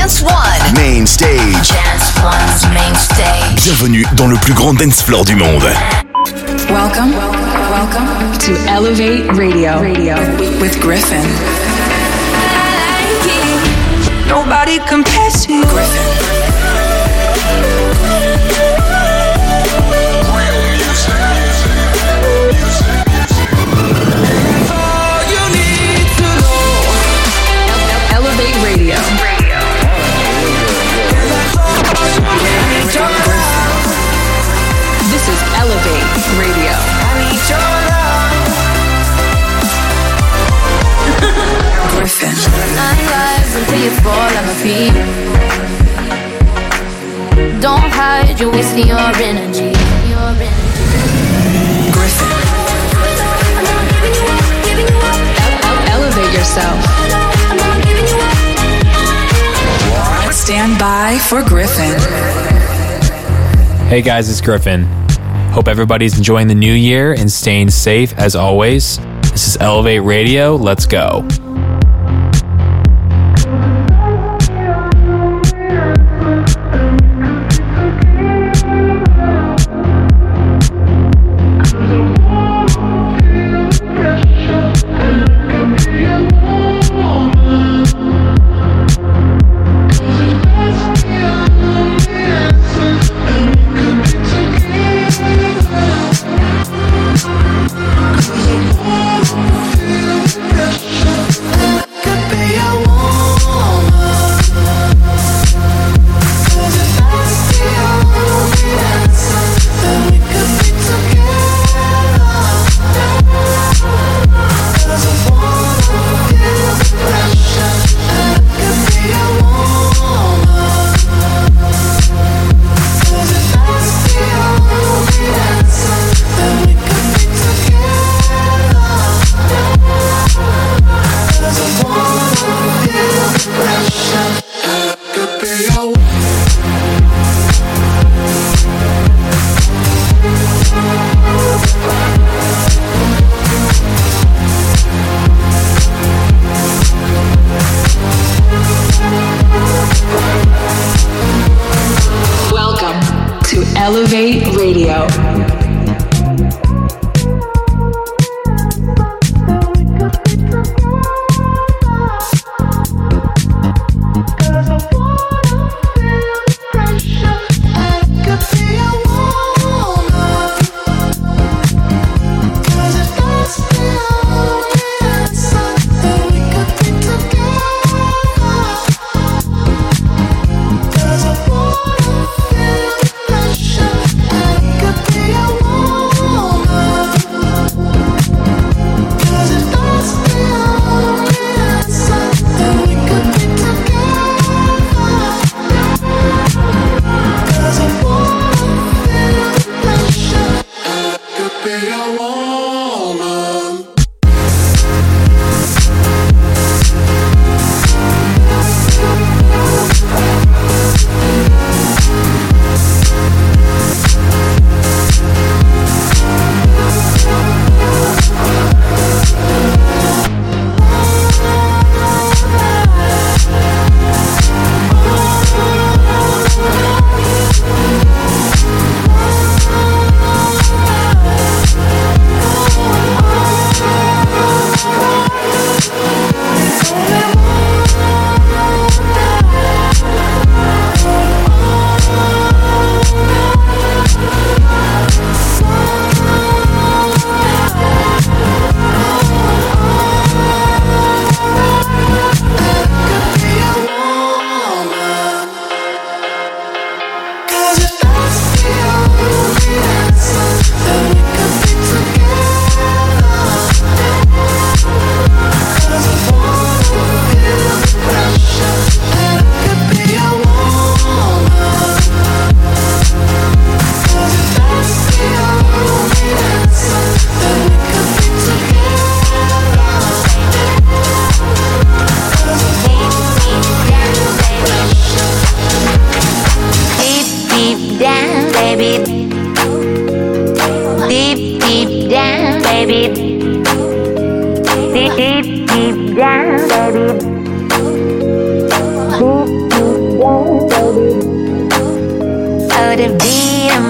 Dance One. Main Stage. Dance One's Main Stage. Bienvenue dans le plus grand dance floor du monde. Welcome to Elevate Radio with Griffin. Nobody compares to you. Griffin. Elevate Radio. This is Elevate Radio. Griffin. 9 lives until you fall on my feet. Don't hide, you're wasting your energy. Griffin. Elevate yourself. Stand by for Griffin. Hey guys, it's Griffin. Hope everybody's enjoying the new year and staying safe as always. This is Elevate Radio. Let's go. Elevate Radio. down, baby. Deep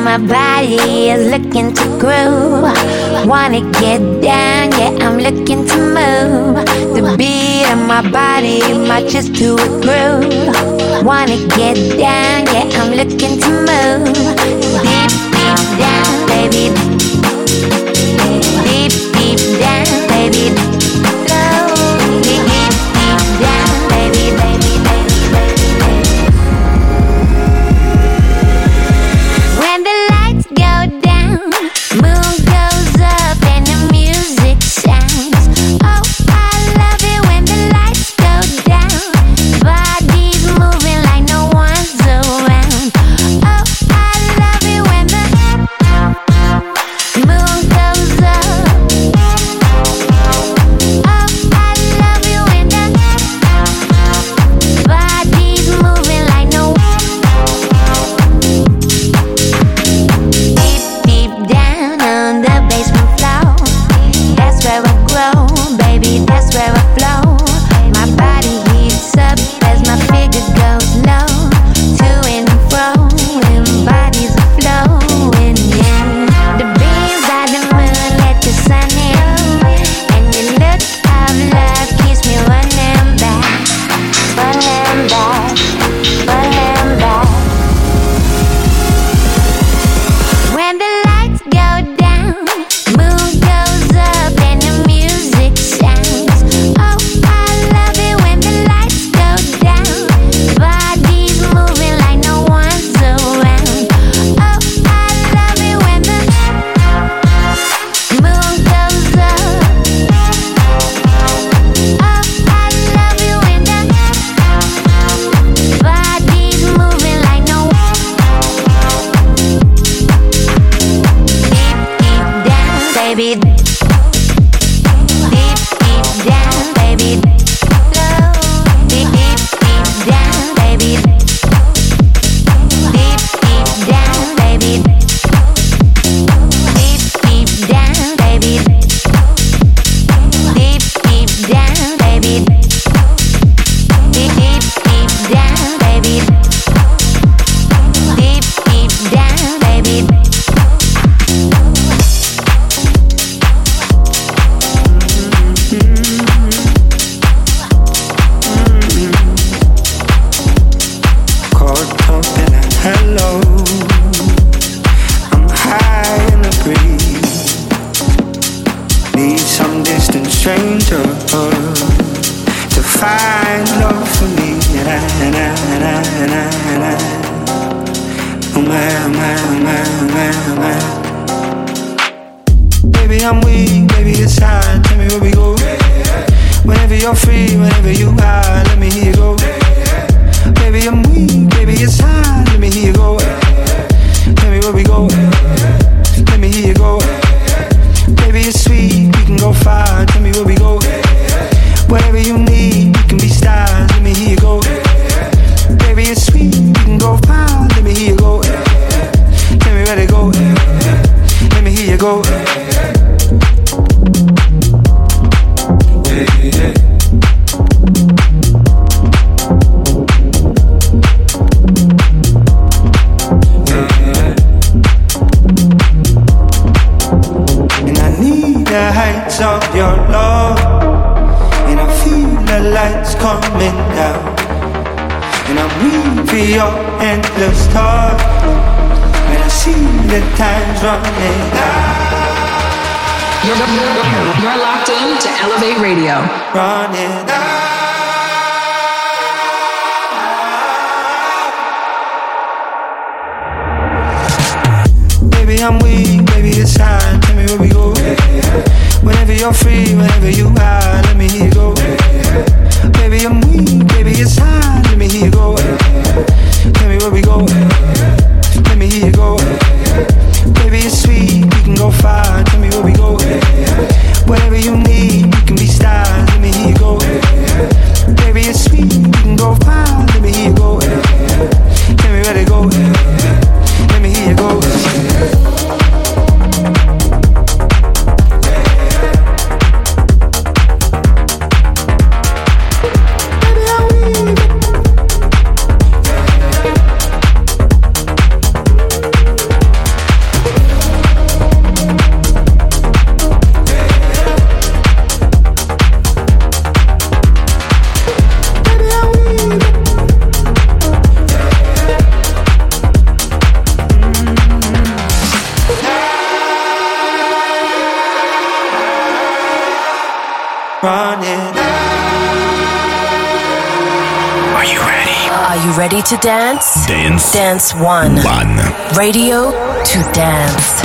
my body is looking to groove. Wanna get down, yeah, I'm looking to move. The beat of my body matches to a groove. Wanna get down, yeah, I'm looking to move. Deep, deep down, baby. Deep, deep down, baby. Slow, deep, deep down, baby, baby, baby, baby, baby. When the lights go down, moon goes up and the music sounds. Oh, I love it when the lights go down. Bodies moving like no one's around. Oh, I love it when the moon goes up. Oh, I love it when the bodies moving like no. Deep, deep down on the basement floor. That's where I grow, baby, that's where I flow. My body heats up as my figure goes low. To and fro, and bodies are flowing, yeah. The beams of the moon let the sun in. And your look of love keeps me running back. Running back, running back. When the lights go down, moon goes up and the music sounds. Oh, I love it when the lights go down. Bodies moving like no one's around. Oh, I love it when the moon goes up. Oh, I love it when the bodies moving like no. Deep, deep down, baby. Deep, deep down, baby. Slow. Deep, deep, deep down, baby. Deep, deep down, baby. Deep, deep down, baby. Deep, deep down, baby. Deep, deep, deep down, baby. Deep, deep down, baby. Caught up in a hello. I'm high in the breeze. Need some distant stranger to find love for me. And I. Oh my, my. Baby, I'm weak, baby, it's hard. Tell me where we go. Whenever you're free, whenever you are, let me hear you go. Baby, I'm weak, baby, it's hard. Let me hear you go. Tell me where we go. Let me hear you go. Baby, it's sweet, we can go far. Tell me where we go. Whatever you need, we can be stars. Let me hear you go. Baby, it's sweet, we can go far. Let me hear you go. Tell me where to go. Let me hear you go. And I need the heights of your love. And I feel the lights coming down. And I'm weak for your endless talk. And I see the time's running out. You're locked in to Elevate Radio. Running out. Baby, I'm weak, baby, it's hard. Tell me where we go. Whenever you're free, whenever you are, let me hear you go. Baby, I'm weak, baby, it's hard. Let me hear you go. Tell me where we go. Let me hear you go. Baby, it's sweet, we can go far. Tell me where we go. Whatever you need, we can be stars. Let me hear you go. Baby, it's sweet, we can go far. Let me hear you go. Tell me where to go. Let me hear you go. you ready to dance? Dance. Dance One. Radio to dance.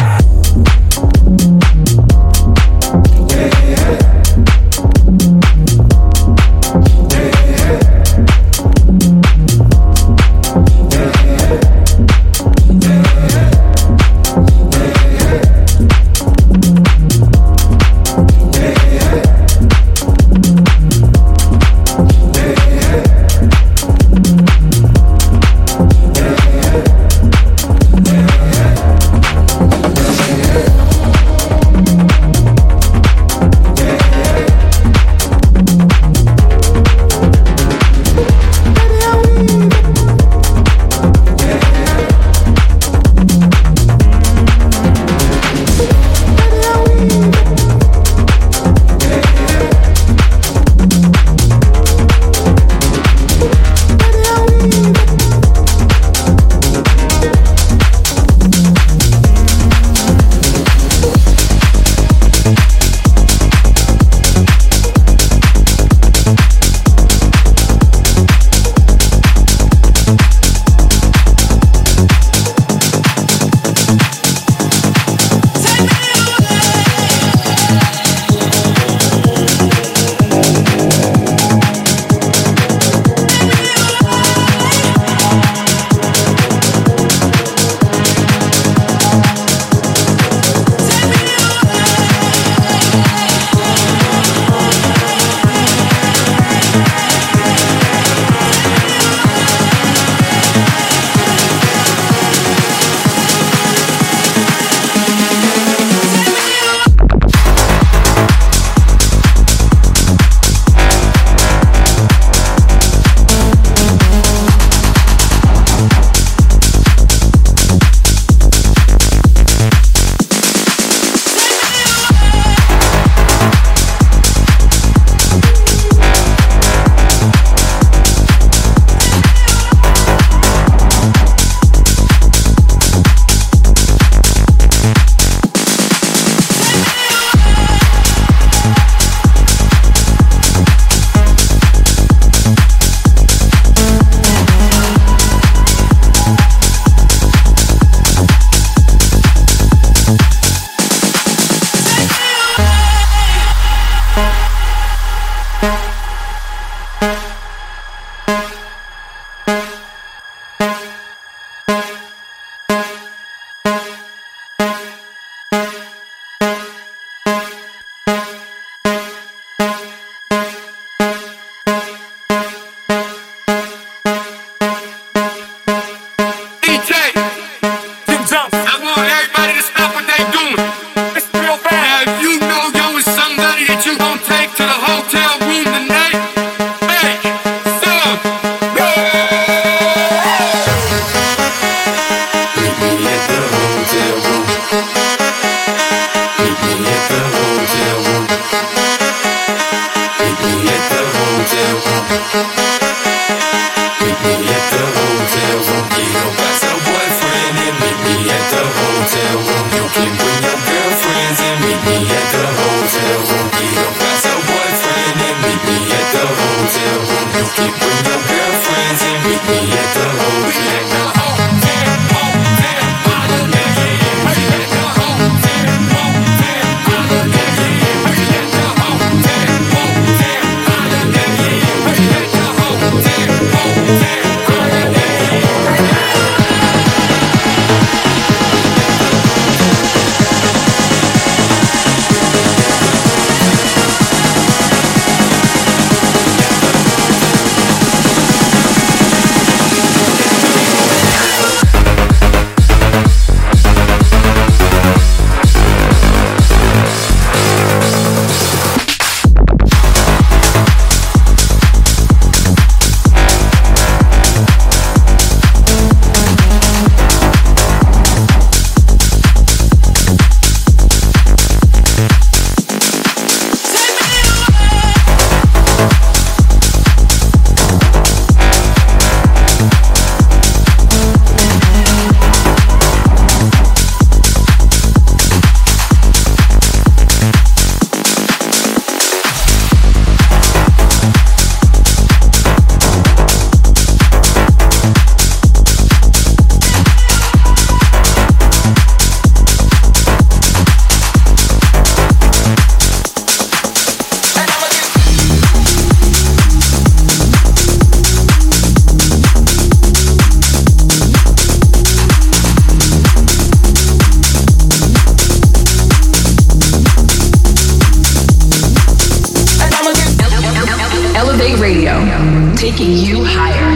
taking you higher.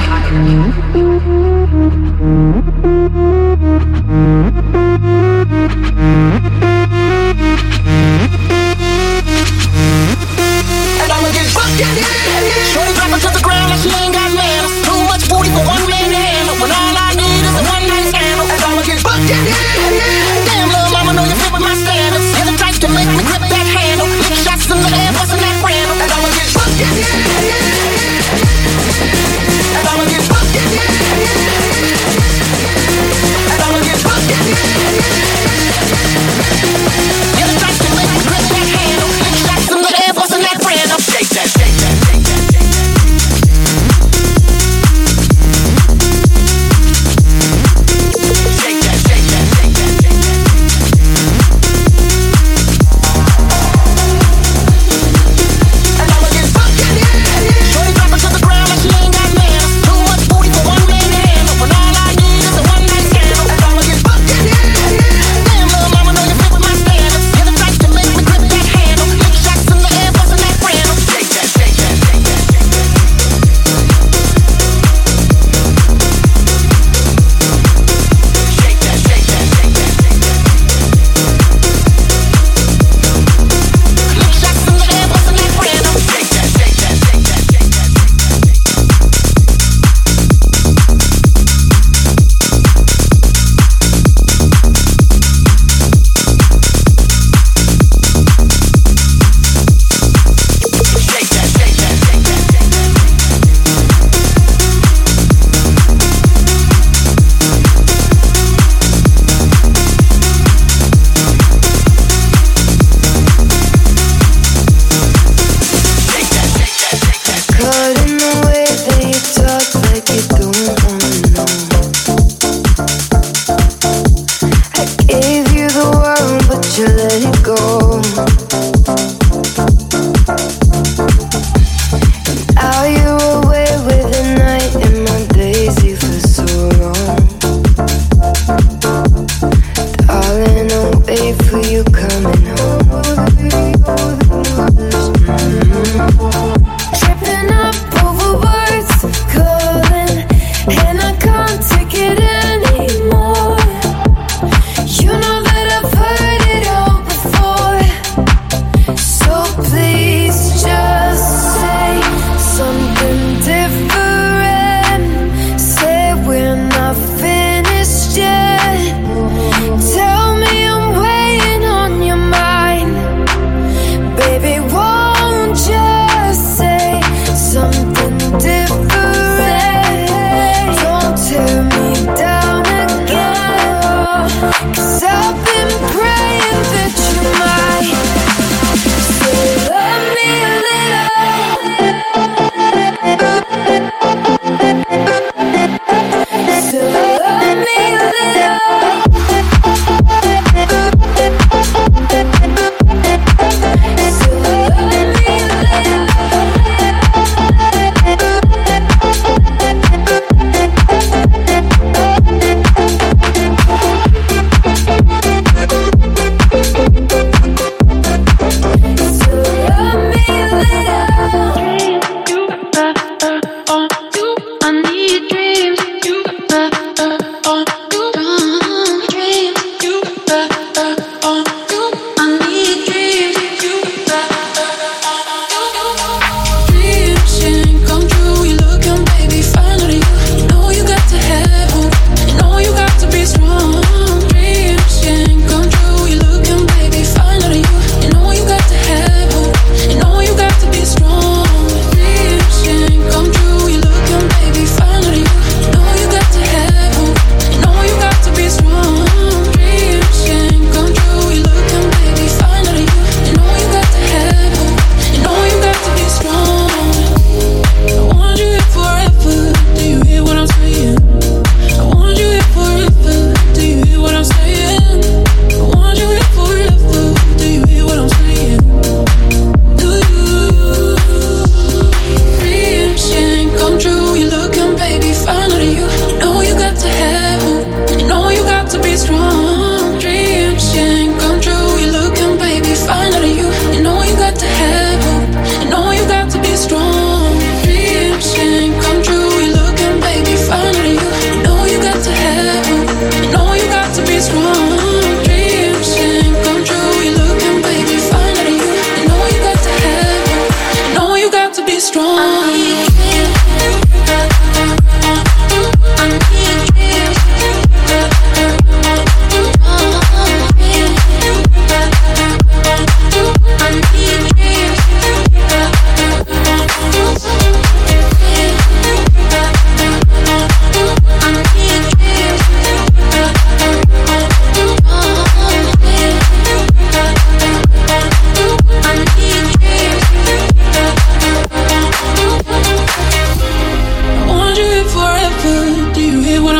And I'ma get fucked in here. Shorty drop her to the ground like she ain't got manners. Too much booty for one man to handle. When all I need is a one night scandal. And I'ma get fucked in here. Damn, little mama, know you fit with my standards. You're the type to make me grip that handle. Lick shots in the air, bustin' that random. And I'ma get fucked in here.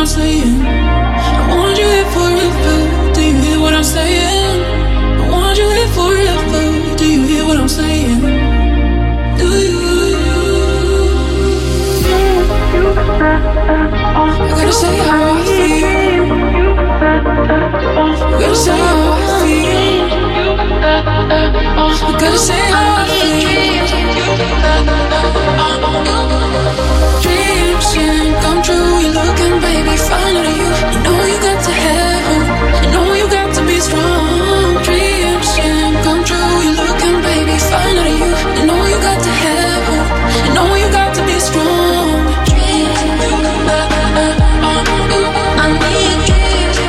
saying? I want you here forever. Do you hear what I'm saying? I want you here forever. Do you hear what I'm saying? Do you? I gotta say how I feel. I gotta say how I feel. I gotta say how I feel. Dreams can come true. You're looking, baby, fine out of you. You know you got to have hope. You know you got to be strong. Dreams can come true. You're looking, baby, fine out of you. You know you got to have hope. You know you got to be strong. I need dreams.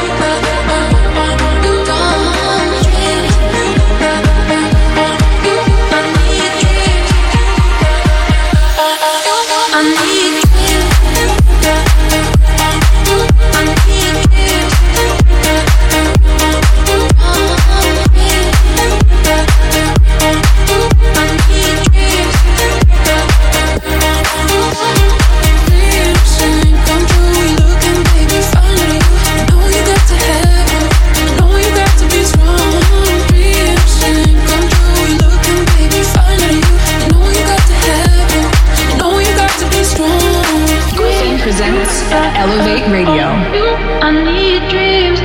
Elevate Radio. I need dreams.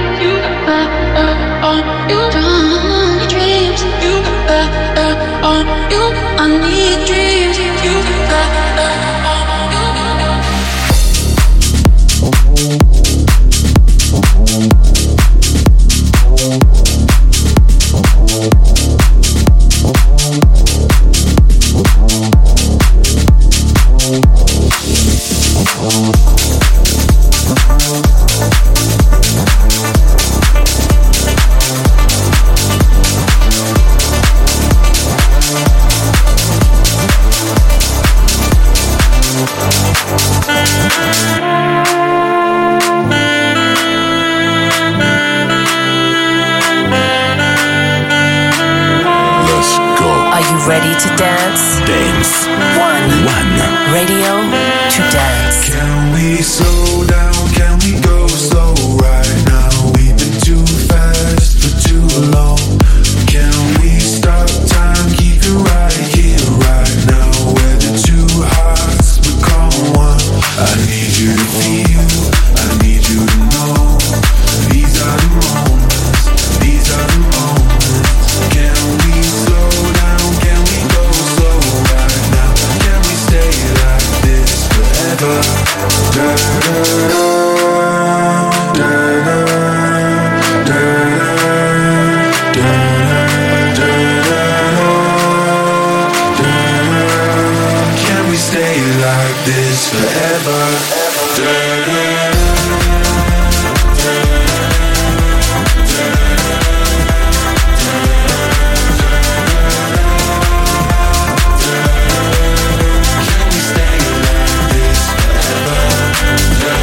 Dreams. I need dreams. Ready to dance? Dance. One. Radio to dance. Can we slow down? Can we go slow right now? We've been too fast for too long. Can we stop time? Keep it right here, right now. Where the two hearts become one. I need you to feel. I need you to know. These are the moments. These are the moments. Can we slow down? Can we go slow right now? Can we stay like this forever? Da da da da da da da da da. Can we stay like this forever? Da da. Can we stay like this forever?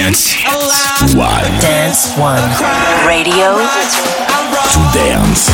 Dance One. Dance One. Radio To dance.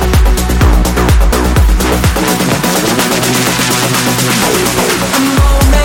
moment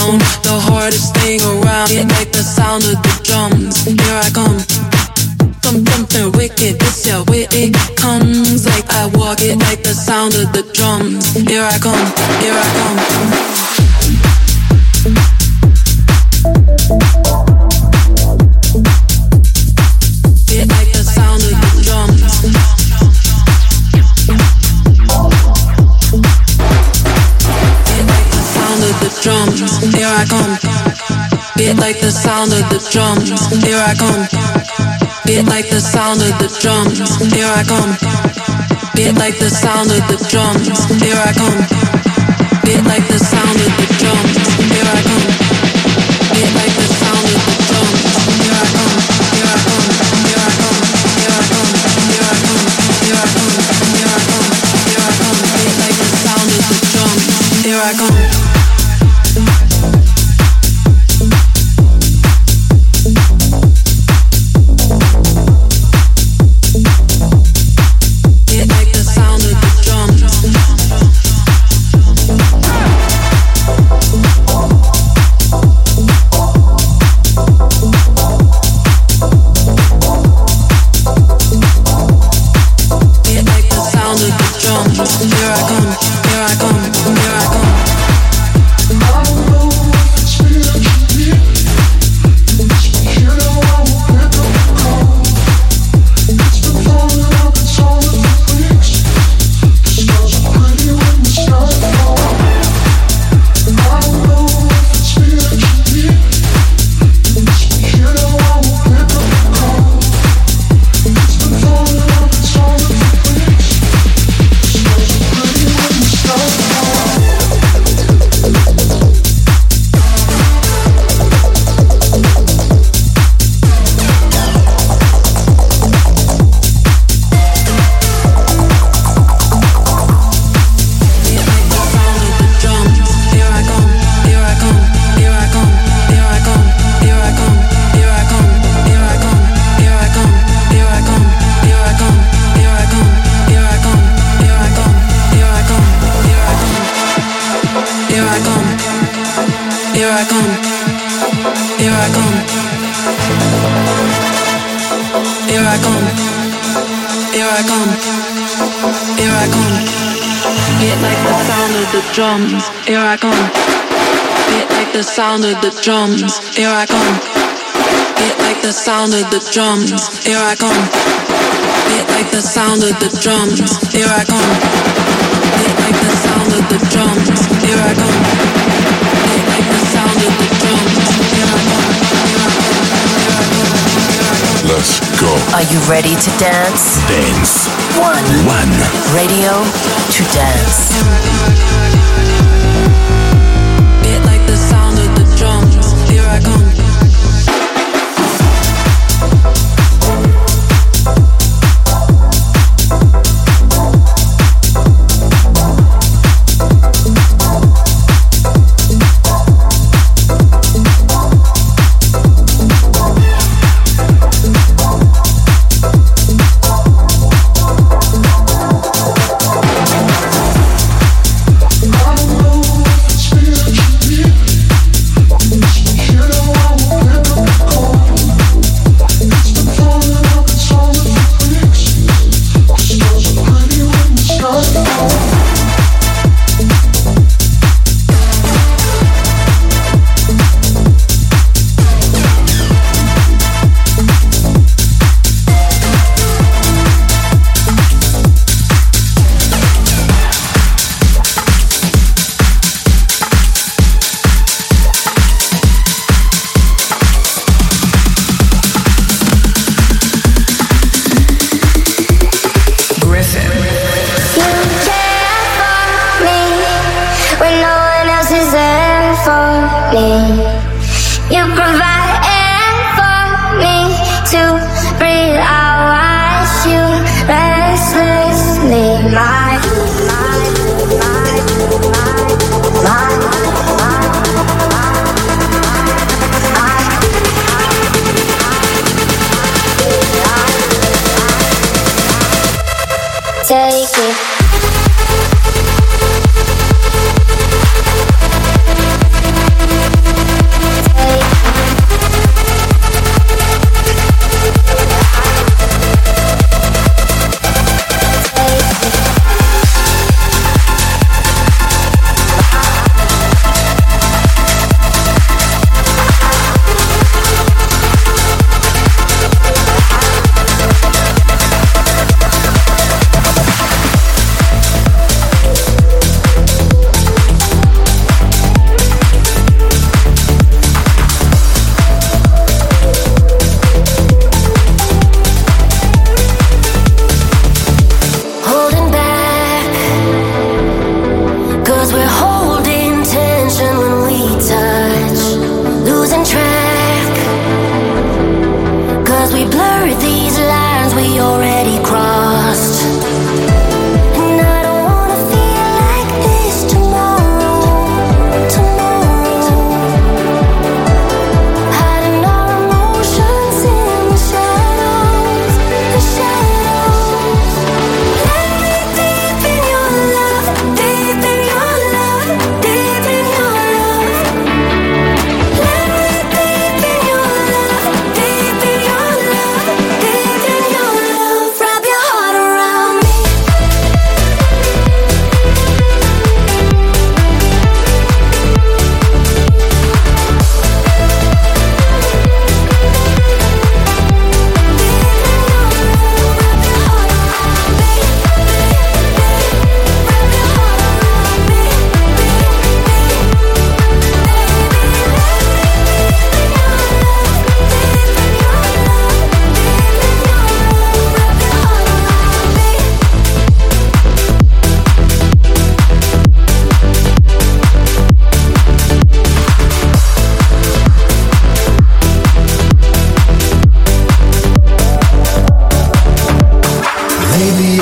sound, the hardest thing around. It like the sound of the drums. Here I come. Something wicked, this yeah, where it comes. Like I walk it like the sound of the drums. Here I come, here I come. It like the sound of the drums. It like the sound of the drums. Here I come. It like the sound of the drums. Here I come. It like the sound of the drums. Here I come. It like the sound of the drums. Here I come. It like the sound of the drums. Here I come. It like the sound of the drums. Here I come. Here I come. Here I come. Here I come. Here I come. Here I come. Here I come. Here I come. It like the sound of the drums. Here I come. Drums, here I come. It like the sound of the drums, here I come. It like the sound of the drums, here I come. It like the sound of the drums, here I come. It like the sound of the drums, here I come. It like the sound of the drums, here I come. Let's go. Are you ready to dance? Dance. One. Radio to dance. It like the sound of the drums, here I come. You provide air for me to breathe. I watch you restlessly. Take it.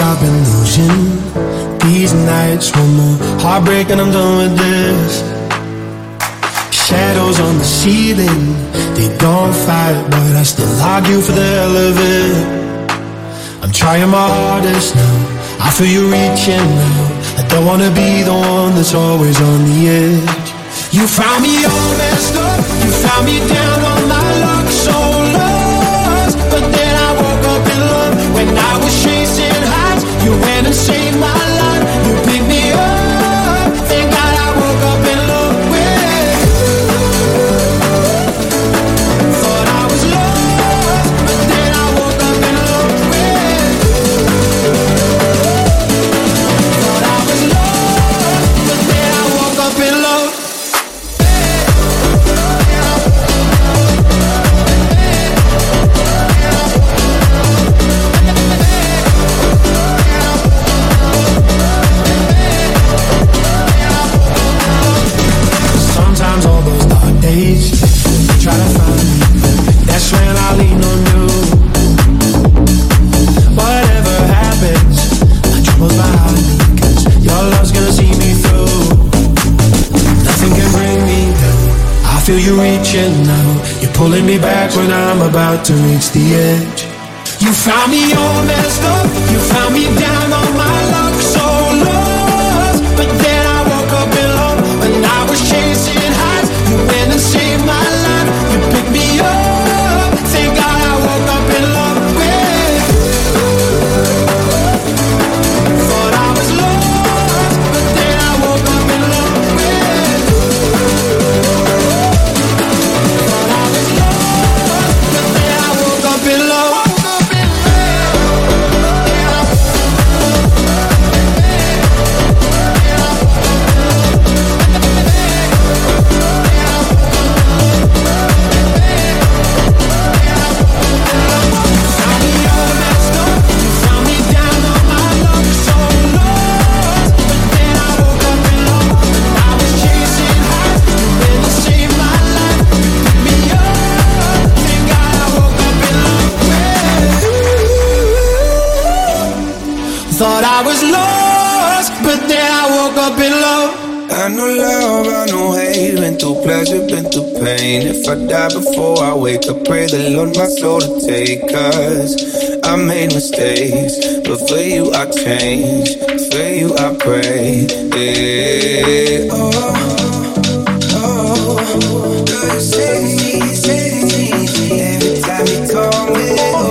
I've been losing these nights. One more heartbreak and I'm done with this. Shadows on the ceiling, they don't fight, but I still argue for the hell of it. I'm trying my hardest now, I feel you reaching now. I don't wanna be the one that's always on the edge. You found me all messed up, you found me down on my luck, so lost. But then I woke up in love when I was chasing highs. You went and saved my life, you picked me up. Thank God I woke up in love with you. Thought I was lost, but then I woke up in love with you. Thought I was lost, but then I woke up in love. Try to find me, that's when I lean on you. Whatever happens, my troubles behind me, 'cause your love's gonna see me through. Nothing can bring me down, I feel you reaching now. You're pulling me back when I'm about to reach the edge. You found me all messed up, you found me down on my luck, so lost. But then I woke up in love when I was chasing highs. You went and saved my life, you picked me up. Thank God I woke up in love with you. Thought I was lost, but then I woke up in love with you. Thought I was lost, but then I woke up in love. Thought I was lost, but then I woke up in love. I know love, I know hate, been through pleasure, been through pain. If I die before I wake up, pray the Lord my soul to take. 'Cause I made mistakes, but for you I change, for you I pray. Yeah. Oh, you say every time you call me.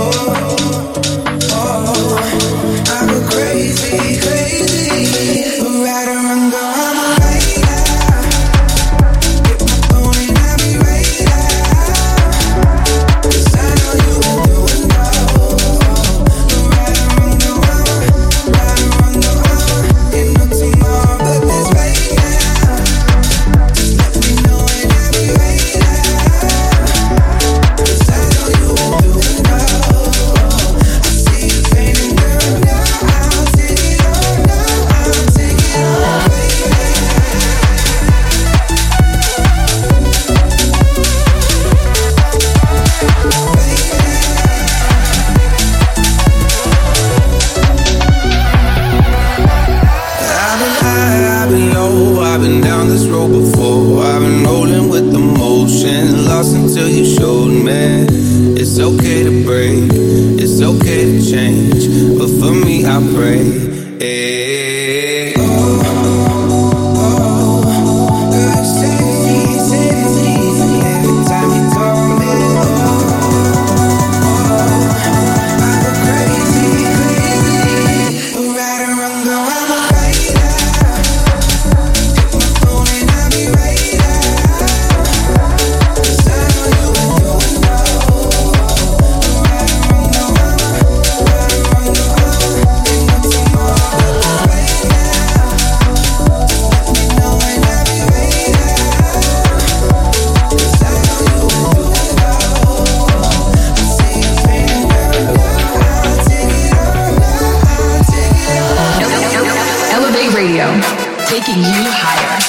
taking you higher.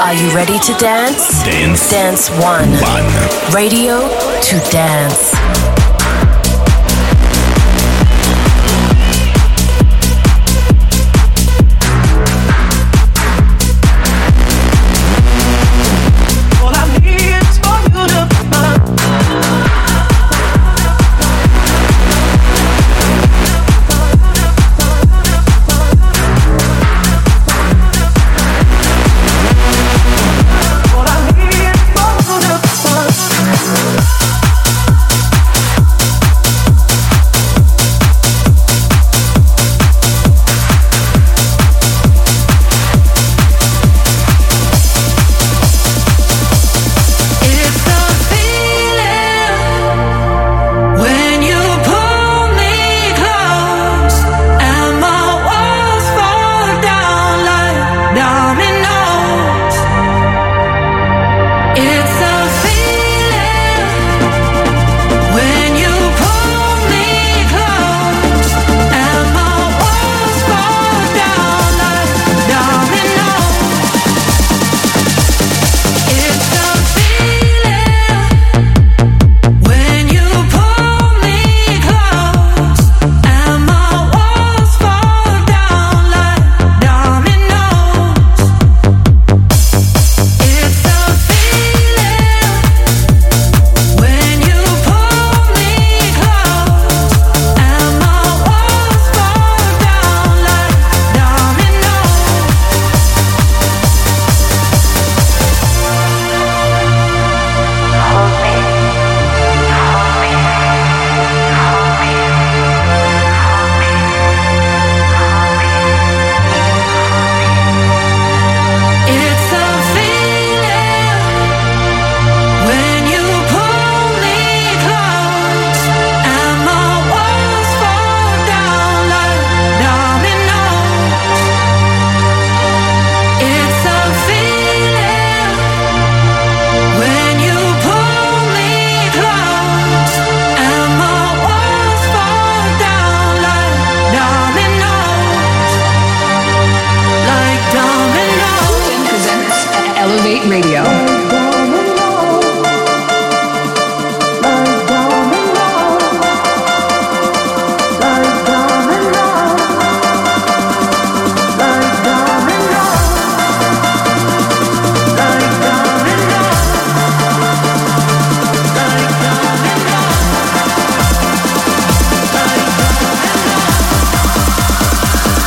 Are you ready to dance? Dance. Dance One. Radio to dance.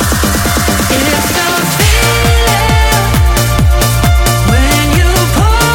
When you pull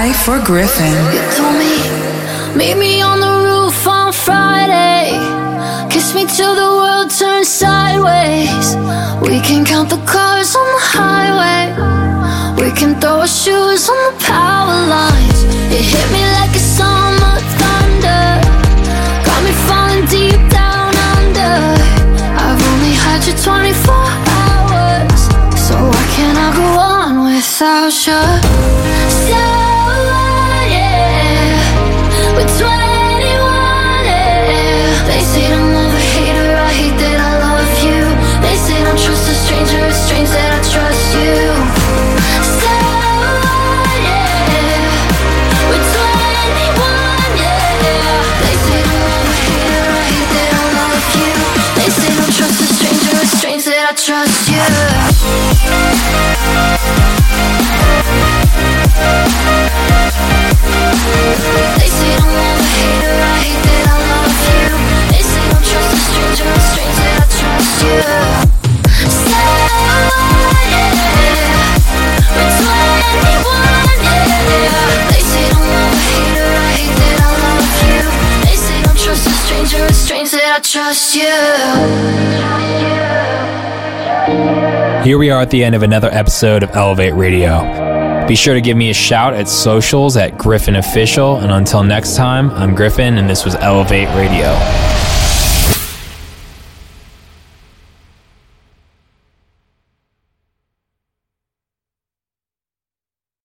die for Griffin. You told me, meet me on the roof on Friday. Kiss me till the world turns sideways. We can count the cars on the highway. We can throw our shoes on the power lines. It hit me like a summer thunder. Got me falling deep down under. I've only had you 24 hours, so why can't I go on without you? So yeah, we're 21, yeah. They say I'm love a hater, I hate that I love you. They say don't trust a stranger, it's strange that I trust you. So yeah, we're 21, yeah. They say I'm love a hater, I hate that I love you. They say don't trust a stranger, it's strange that I trust you. They say don't love a hater, I hate that I love you. They say don't trust a stranger, it's strange that I trust you. So yeah, we're 21, yeah. They say don't love a hater, I hate that I love you. They say don't trust a stranger, it's strange that I trust you. Here we are at the end of another episode of Elevate Radio. Be sure to give me a shout at socials at Griffin Official. And until next time, I'm Griffin, and this was Elevate Radio.